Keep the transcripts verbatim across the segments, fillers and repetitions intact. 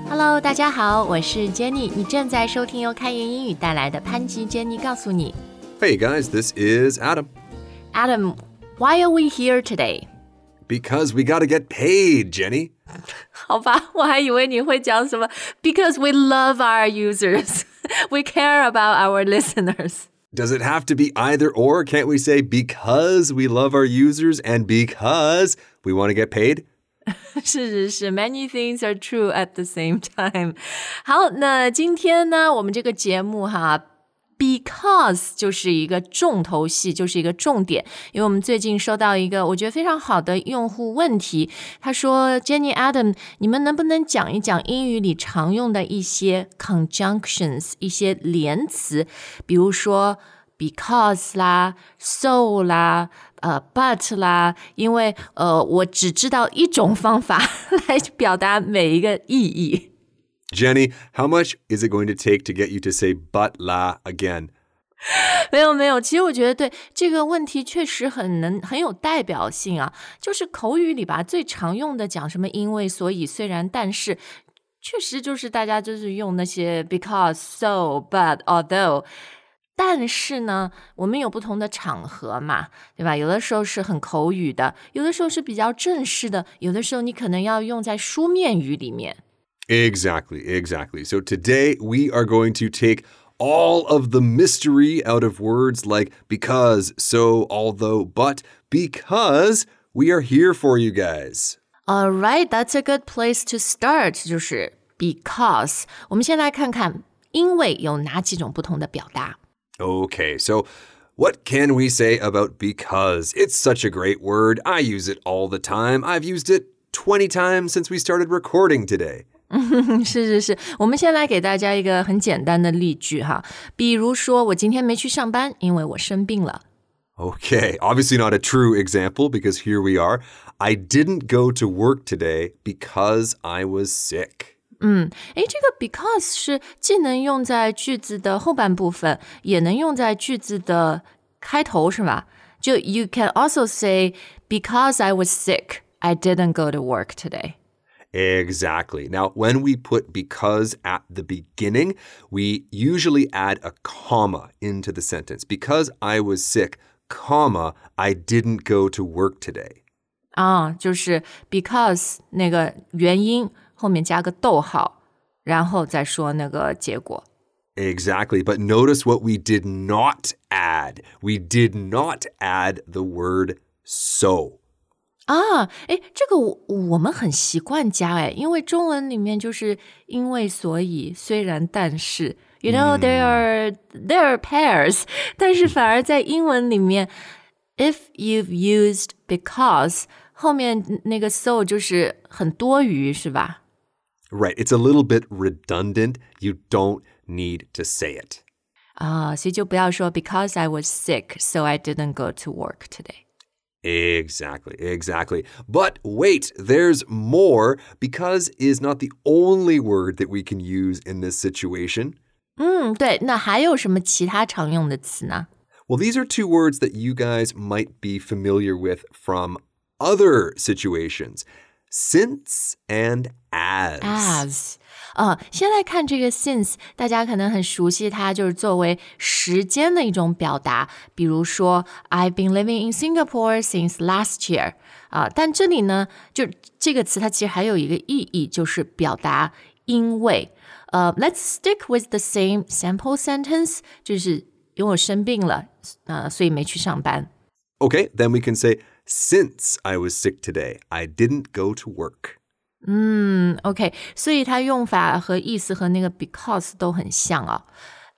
Hello， 大家好，我是 Jenny， 你正在收听由开言英语带来的潘吉 Jenny 告诉你。 Hey guys, this is Adam. Adam, why are we here today? Because we gotta get paid, Jenny. 好吧，我还以为你会讲什么 Because we love our users. We care about our listeners. Does it have to be either or? Can't we say because we love our users and because we want to get paid? 是是是 Many things are true at the same time. 好，那今天呢，我们这个节目哈Because 就是一个重头戏，就是一个重点，因为我们最近收到一个我觉得非常好的用户问题，他说 Jenny Adam 你们能不能讲一讲英语里常用的一些 conjunctions 一些连词，比如说 because 啦 so 啦呃 but 啦，因为呃我只知道一种方法来表达每一个意义。 Jenny, how much is it going to take to get you to say but la again? 没有没有，其实我觉得对这个问题确实很能很有代表性啊，就是口语里吧最常用的讲什么因为所以虽然但是，确实就是大家就是用那些 because so but although， 但是呢我们有不同的场合嘛，对吧？有的时候是很口语的，有的时候是比较正式的，有的时候你可能要用在书面语里面。 Exactly, exactly. So today we are going to take all of the mystery out of words like because, so, although, but, because we are here for you guys. All right, that's a good place to start, 就是 because. 我们先来看看因为有哪几种不同的表达。 Okay, so what can we say about because? It's such a great word. I use it all the time. I've used it twenty times since we started recording today. 是是是，我们先来给大家一个很简单的例句哈，比如说我今天没去上班，因为我生病了。 Okay, obviously not a true example because here we are. I didn't go to work today because I was sick. 嗯，诶，这个 because 是既能用在句子的后半部分，也能用在句子的开头，是吧？就 you can also say because I was sick, I didn't go to work today.Exactly. Now, when we put because at the beginning, we usually add a comma into the sentence. Because I was sick, comma, I didn't go to work today. 啊，就是 because 那个原因后面加个逗号，然后再说那个结果。 Exactly. But notice what we did not add. We did not add the word so. 啊，诶，这个我我们很习惯加诶，因为中文里面就是因为所以虽然但是 you know there are there are pairs 但是反而在英文里面 if you've used because 后面那个 so 就是很多余是吧？ Right, it's a little bit redundant. You don't need to say it. 啊，所以就不要说 because I was sick so I didn't go to work today.Exactly, exactly. But wait, there's more. Because is not the only word that we can use in this situation. 嗯，对，那还有什么其他常用的词呢？ Well, these are two words that you guys might be familiar with from other situations. Since and as. As. 呃，先来看这个 since， 大家可能很熟悉它，就是作为时间的一种表达。比如说 I've been living in Singapore since last year. 啊，但这里呢，就这个词它其实还有一个意义，就是表达因为。呃 Let's stick with the same sample sentence， 就是因为我生病了，呃，所以没去上班。 Okay, then we can say since I was sick today, I didn't go to work. 嗯 OK 所以它用法和意思和那个 because 都很像啊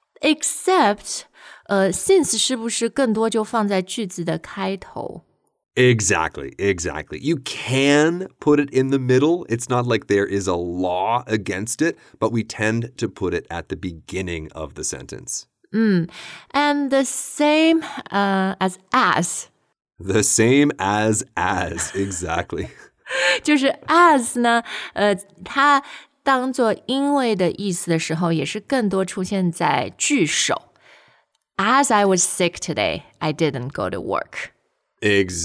except 呃 since 是不是更多就放在句子的开头 Exactly, exactly. You can put it in the middle. It's not like there is a law against it, but we tend to put it at the beginning of the sentence. 嗯 and the same uh, as as The same as as, exactly. 就是 as 呢，呃，它当做因为的意思的时候，也是更多出现在句首。As I was sick today, I didn't go to work.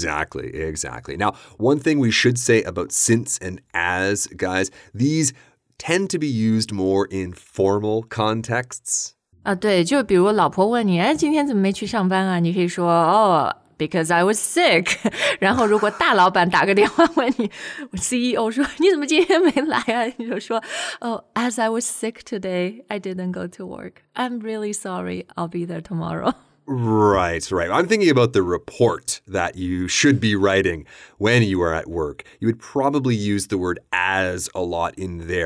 Exactly, exactly. Now, one thing we should say about since and as, guys, these tend to be used more in formal contexts. 啊，对，就比如老婆问你，哎，今天怎么没去上班啊？你可以说，哦，because I was sick 然后如果大老板打个电话问你 C E O 说你怎么今天没来啊？你就说 Oh, as I was sick today, I didn't go to work. I'm really sorry. I'll be there tomorrow. Right, right. I'm thinking about the report that you should be writing when you are at work. You would probably use the word as a lot in there.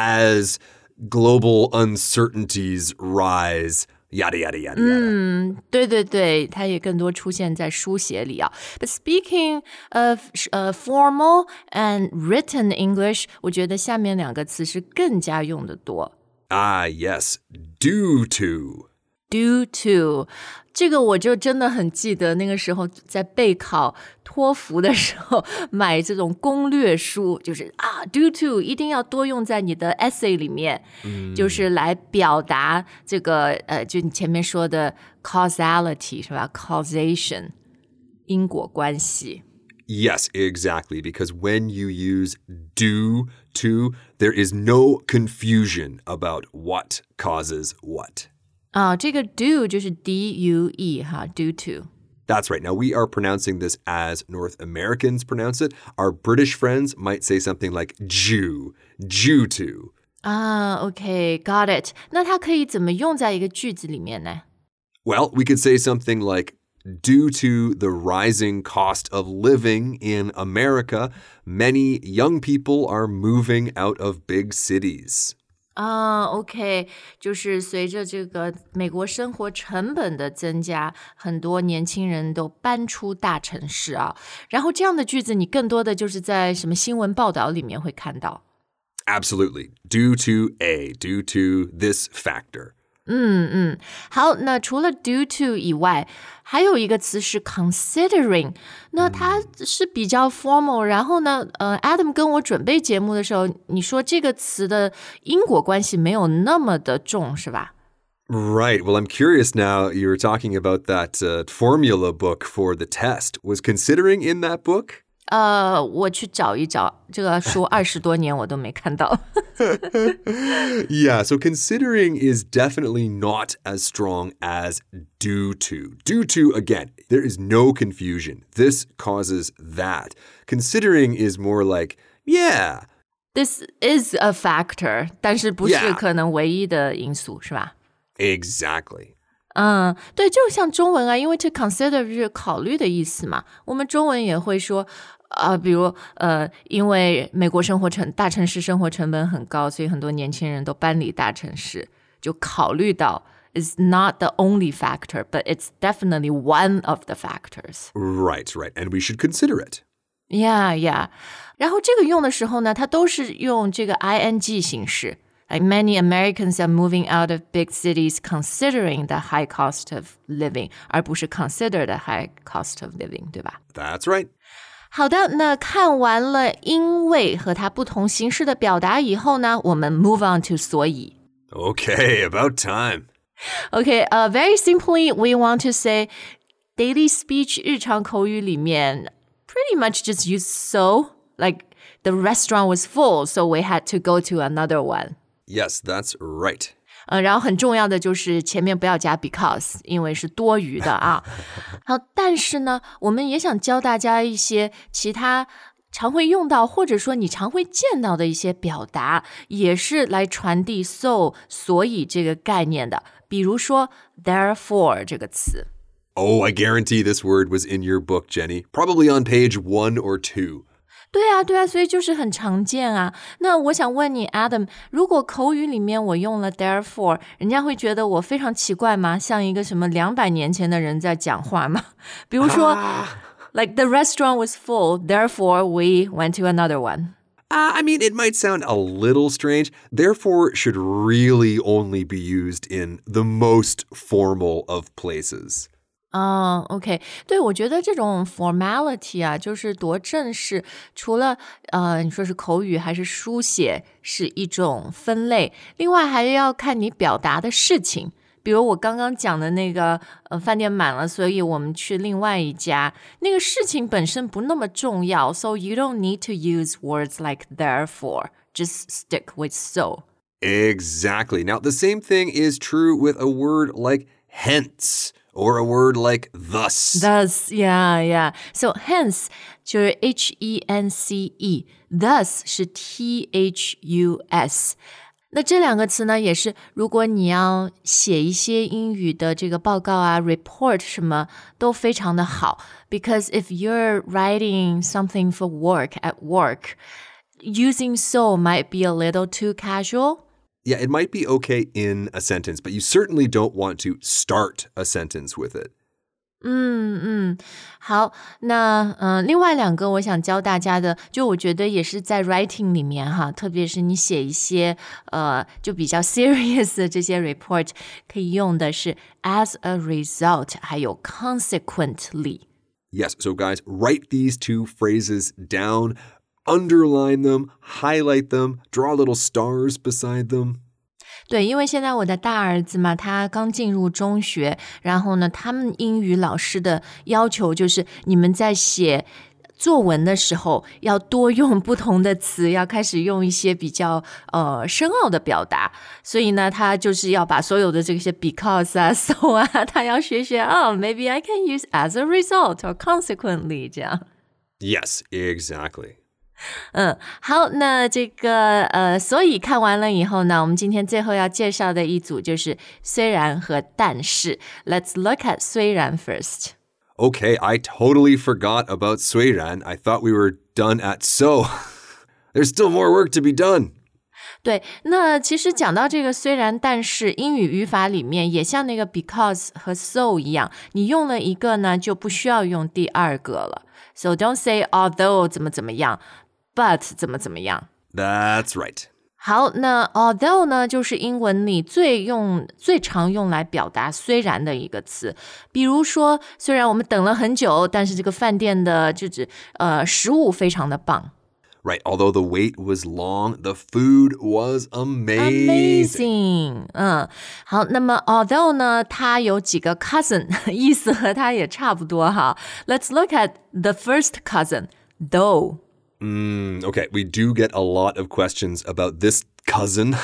As global uncertainties rise, yada, yada, yada, yada. 嗯，对对对，它也更多出现在书写里啊。But speaking of uh, formal and written English, 我觉得下面两个词是更加用的多。 Ah, yes. Due to. Due to 这个我就真的很记得那个时候在备考托福的时候买这种攻略书，就是啊 due to 一定要多用在你的 essay 里面，嗯，就是来表达这个呃，就你前面说的 causality 是吧 causation 因果关系。 Yes, exactly. Because when you use due to, there is no confusion about what causes what. 啊，这个 due 就是 D U E 哈 due to. That's right. Now, we are pronouncing this as North Americans pronounce it. Our British friends might say something like due, due to. 啊 OK, got it. 那它可以怎么用在一个句子里面呢？ Well, we could say something like, due to the rising cost of living in America, many young people are moving out of big cities. 啊 OK 就是随着这个美国生活成本的增加，很多年轻人都搬出大城市啊。然后这样的句子你更多的就是在什么新闻报道里面会看到。 Absolutely. Due to A, due to this factor. 嗯嗯，好，那除了 due to 以外，还有一个词是 considering， 那它是比较 formal， 然后呢，呃 ，Adam 跟我准备节目的时候，你说这个词的因果关系没有那么的重，是吧？ Right. Well, I'm curious now. You were talking about that uh, formula book for the test. Was considering in that book? 呃，我去找一找，这个书二十多年我都没看到。 Yeah, so considering is definitely not as strong as due to. Due to, again, there is no confusion. This causes that. Considering is more like, yeah. This is a factor, 但是不是 Yeah. 可能唯一的因素，是吧？ Exactly. 嗯，对，就像中文啊，因为to consider 是考虑的意思嘛，我们中文也会说，呃，比如呃，因为美国生活成大城市生活成本很高，所以很多年轻人都搬离大城市，就考虑到 is not the only factor, but it's definitely one of the factors. Right, right. And we should consider it. Yeah, yeah. 然后这个用的时候呢，它都是用这个 ing 形式。Like many Americans are moving out of big cities considering the high cost of living, 而不是 consider the high cost of living, 对吧？ That's right. 好的，那看完了因为和它不同形式的表达以后呢，我们 move on to 所以。 Okay, about time. Okay, uh, very simply, we want to say daily speech 日常口语里面 pretty much just use so, like the restaurant was full, so we had to go to another one. Yes, that's right. 呃，然后很重要的就是前面不要加 because， 因为是多余的啊。好，但是呢，我们也想教大家一些其他常会用到，或者说你常会见到的一些表达，也是来传递 so 所以这个概念的。比如说 therefore 这个词。 Oh, I guarantee this word was in your book, Jenny. Probably on page one or two. 对啊，对啊，所以就是很常见啊。那我想问你 Adam， 如果口语里面我用了 therefore， 人家会觉得我非常奇怪吗？像一个什么两百年前的人在讲话吗？比如说、ah. like the restaurant was full, therefore we went to another one. Uh, I mean, it might sound a little strange. Therefore should really only be used in the most formal of places. 啊、uh, ，OK， 对，我觉得这种 formality 啊，就是多正式。除了呃，你说是口语还是书写，是一种分类。另外还要看你表达的事情。比如我刚刚讲的那个，呃，饭店满了，所以我们去另外一家。那个事情本身不那么重要 ，so you don't need to use words like therefore. just stick with so. Exactly. Now, the same thing is true with a word like hence or a word like thus. Thus, yeah, yeah. So hence 就是 H E N C E，thus 是 T H U S。那这两个词呢，也是如果你要写一些英语的这个报告啊 report 什么都非常的好 because if you're writing something for work at work, using so might be a little too casual. Yeah, it might be okay in a sentence, but you certainly don't want to start a sentence with it. 嗯嗯，好，那嗯、呃，另外两个我想教大家的，就我觉得也是在 writing 里面哈，特别是你写一些呃就比较 serious 的这些 report， 可以用的是 as a result， 还有 consequently. Yes, so guys, write these two phrases down, underline them, highlight them, draw little stars beside them. 对，因为现在我的大儿子嘛，他刚进入中学，然后呢，他们英语老师的要求就是你们在写作文的时候要多用不同的词，要开始用一些比较呃深奥的表达，所以呢，他就是要把所有的这些 because 啊 so 啊，他要学学哦 maybe I can use as a result or consequently 这样。 Yes, exactly. 嗯，好，那这个呃，所以看完了以后呢，我们今天最后要介绍的一组就是虽然和但是。Let's look at 虽然 first. Okay, I totally forgot about 虽然. I thought we were done at so. There's still more work to be done. 对，那其实讲到这个虽然但是，英语语法里面也像那个 because 和 so 一样，你用了一个呢，就不需要用第二个了。So don't say although 怎么怎么样，but 怎么怎么样。 That's right. 好，那 although 呢，就是英文里最用最常用来表达虽然的一个词。比如说，虽然我们等了很久，但是这个饭店的就是呃食物非常的棒。 Right, although the wait was long, the food was amazing. Amazing. 嗯，好，那么 although 呢，它有几个 cousin， 意思和它也差不多哈。Let's look at the first cousin, though. Mm, okay, we do get a lot of questions about this cousin.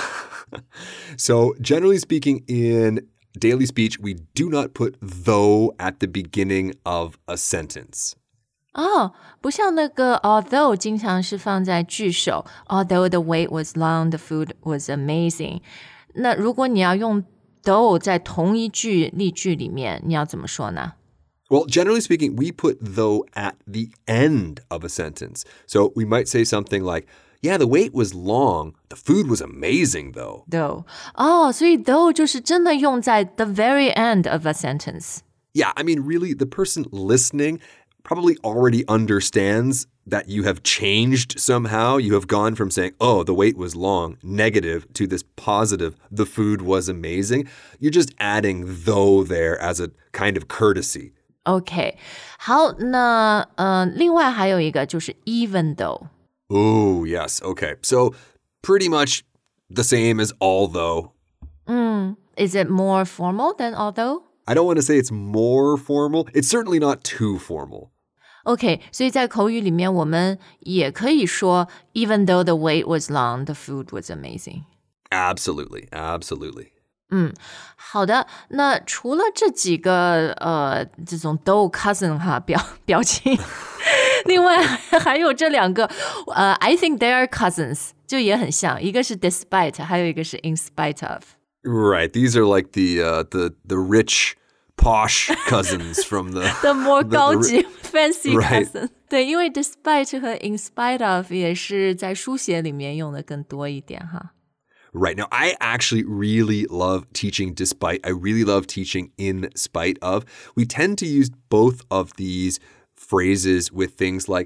So, generally speaking, in daily speech, we do not put though at the beginning of a sentence. 哦，不像那个 although 经常是放在句首 although the wait was long, the food was amazing. 那如果你要用 though 在同一句例句里面，你要怎么说呢？ Well, generally speaking, we put though at the end of a sentence. So we might say something like, yeah, the wait was long. The food was amazing, though. Though. 哦，所以 though 就是真的用在 the very end of a sentence. Yeah, I mean, really, the person listening probably already understands that you have changed somehow. You have gone from saying, oh, the wait was long, negative, to this positive, the food was amazing. You're just adding though there as a kind of courtesy. OK， 好，那呃，另外还有一个就是 even though. Oh, yes. Okay. So pretty much the same as although. Mm, is it more formal than although? I don't want to say it's more formal. It's certainly not too formal. OK， 所以在口语里面，我们也可以说 even though the wait was long, the food was amazing. Absolutely. Absolutely. 嗯，好的。那除了这几个呃这种 though cousin 哈表表情，另外还有这两个呃 I think they are cousins 就也很像，一个是 despite， 还有一个是 in spite of. Right. These are like the uh, the the rich, posh cousins from the the more the, 高级 the, fancy right. cousin. 对，因为 despite 和 in spite of 也是在书写里面用的更多一点哈。 Right. Now, I actually really love teaching despite. I really love teaching in spite of. We tend to use both of these phrases with things like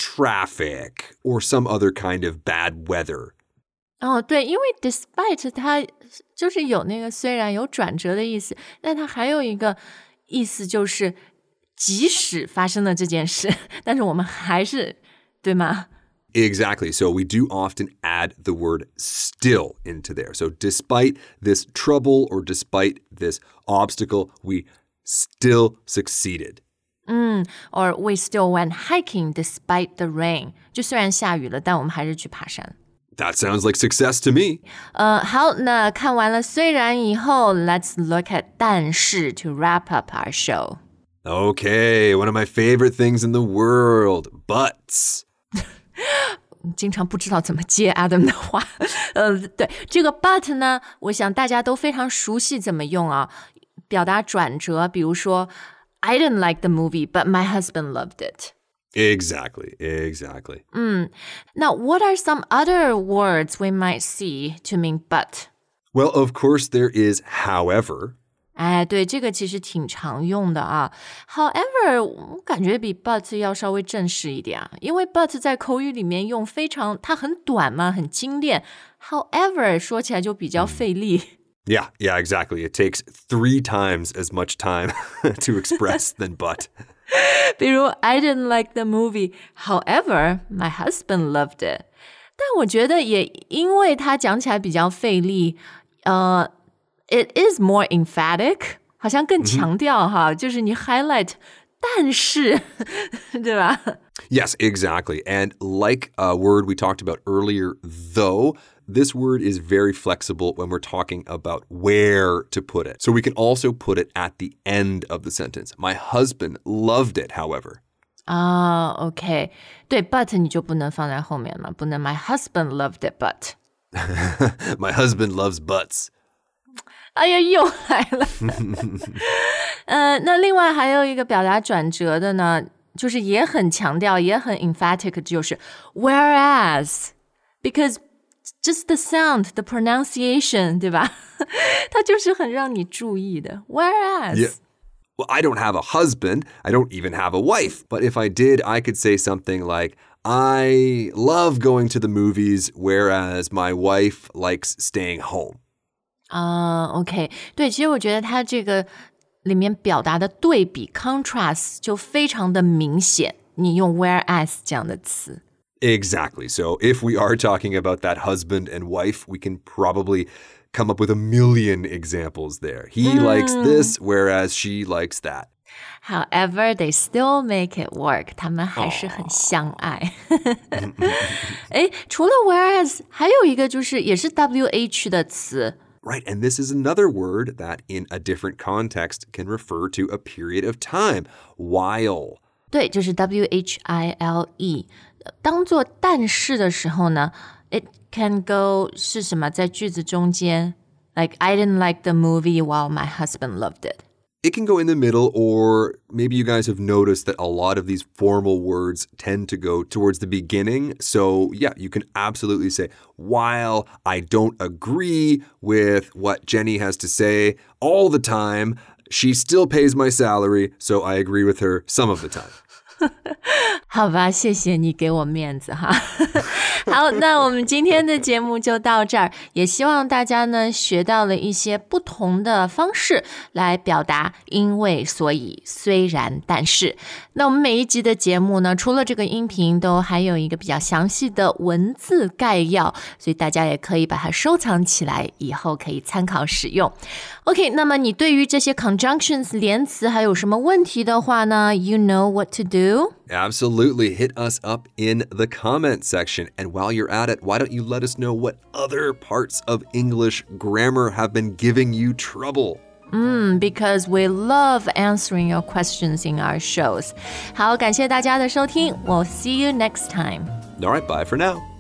traffic or some other kind of bad weather. 哦，对，因为 despite 它就是有那个虽然有转折的意思，但它还有一个意思就是即使发生了这件事，但是我们还是，对吗？ Exactly. So we do often add the word still into there. So despite this trouble or despite this obstacle, we still succeeded. 嗯 or we still went hiking despite the rain. 就虽然下雨了，但我们还是去爬山。 That sounds like success to me. 呃，好，那看完了虽然以后 let's look at 但是 to wrap up our show. Okay, one of my favorite things in the world, buts. 经常不知道怎么接 Adam 的话。呃，对，这个 but 呢，我想大家都非常熟悉怎么用啊，表达转折，比如说 I didn't like the movie, but my husband loved it. Exactly, exactly. 嗯，那 what are some other words we might see to mean but? Well, of course, there is however. 哎，对，这个其实挺常用的啊。However，我感觉比 but 要稍微正式一点啊，因为 but 在口语里面用非常，它很短嘛，很精炼。However，说起来就比较费力。 Yeah, yeah, exactly. It takes three times as much time to express than but. 比如 I didn't like the movie. However, my husband loved it. 但我觉得也因为它讲起来比较费力，呃。It is more emphatic, 好像更强调哈， mm-hmm. 就是你 highlight 但是对吧 Yes, exactly. And like a word we talked about earlier, though, this word is very flexible when we're talking about where to put it. So we can also put it at the end of the sentence. My husband loved it, however. 啊、uh, OK. 对 but 你就不能放在后面嘛，不能 My husband loved it, but. My husband loves butts. 哎呀，又来了。呃，那另外还有一个表达转折的呢，就是也很强调，也很 emphatic， 就是 whereas because just the sound, the pronunciation， 对吧？它就是很让你注意的。Whereas. Yeah. Well, I don't have a husband. I don't even have a wife. But if I did, I could say something like, I love going to the movies, whereas my wife likes staying home. 啊、uh, ，OK， 对，其实我觉得它这个里面表达的对比 contrast 就非常的明显。你用 whereas 这样的词 Exactly. So if we are talking about that husband and wife, we can probably come up with a million examples there. He mm. likes this, whereas she likes that. However, they still make it work. 他们还是很相爱。诶，除了 whereas， 还有一个就是也是 W H 的词。 Right, and this is another word that in a different context can refer to a period of time, while. 对，就是 W H I L E。当做但是的时候呢 ，it can go 是什么？在句子中间 ，like I didn't like the movie while my husband loved it. It can go in the middle, or maybe you guys have noticed that a lot of these formal words tend to go towards the beginning. So, yeah, you can absolutely say, while I don't agree with what Jenny has to say all the time, she still pays my salary, so I agree with her some of the time. 好吧，谢谢你给我面子哈。好，那我们今天的节目就到这儿，也希望大家呢学到了一些不同的方式来表达因为所以虽然但是。那我们每一集的节目呢，除了这个音频都还有一个比较详细的文字概要，所以大家也可以把它收藏起来，以后可以参考使用。OK， 那么你对于这些 conjunctions 连词还有什么问题的话呢 ，you know what to do? Absolutely. Hit us up in the comment section. And while you're at it, why don't you let us know what other parts of English grammar have been giving you trouble? Mm, because we love answering your questions in our shows. 好，感谢大家的收听。We'll see you next time. All right, bye for now.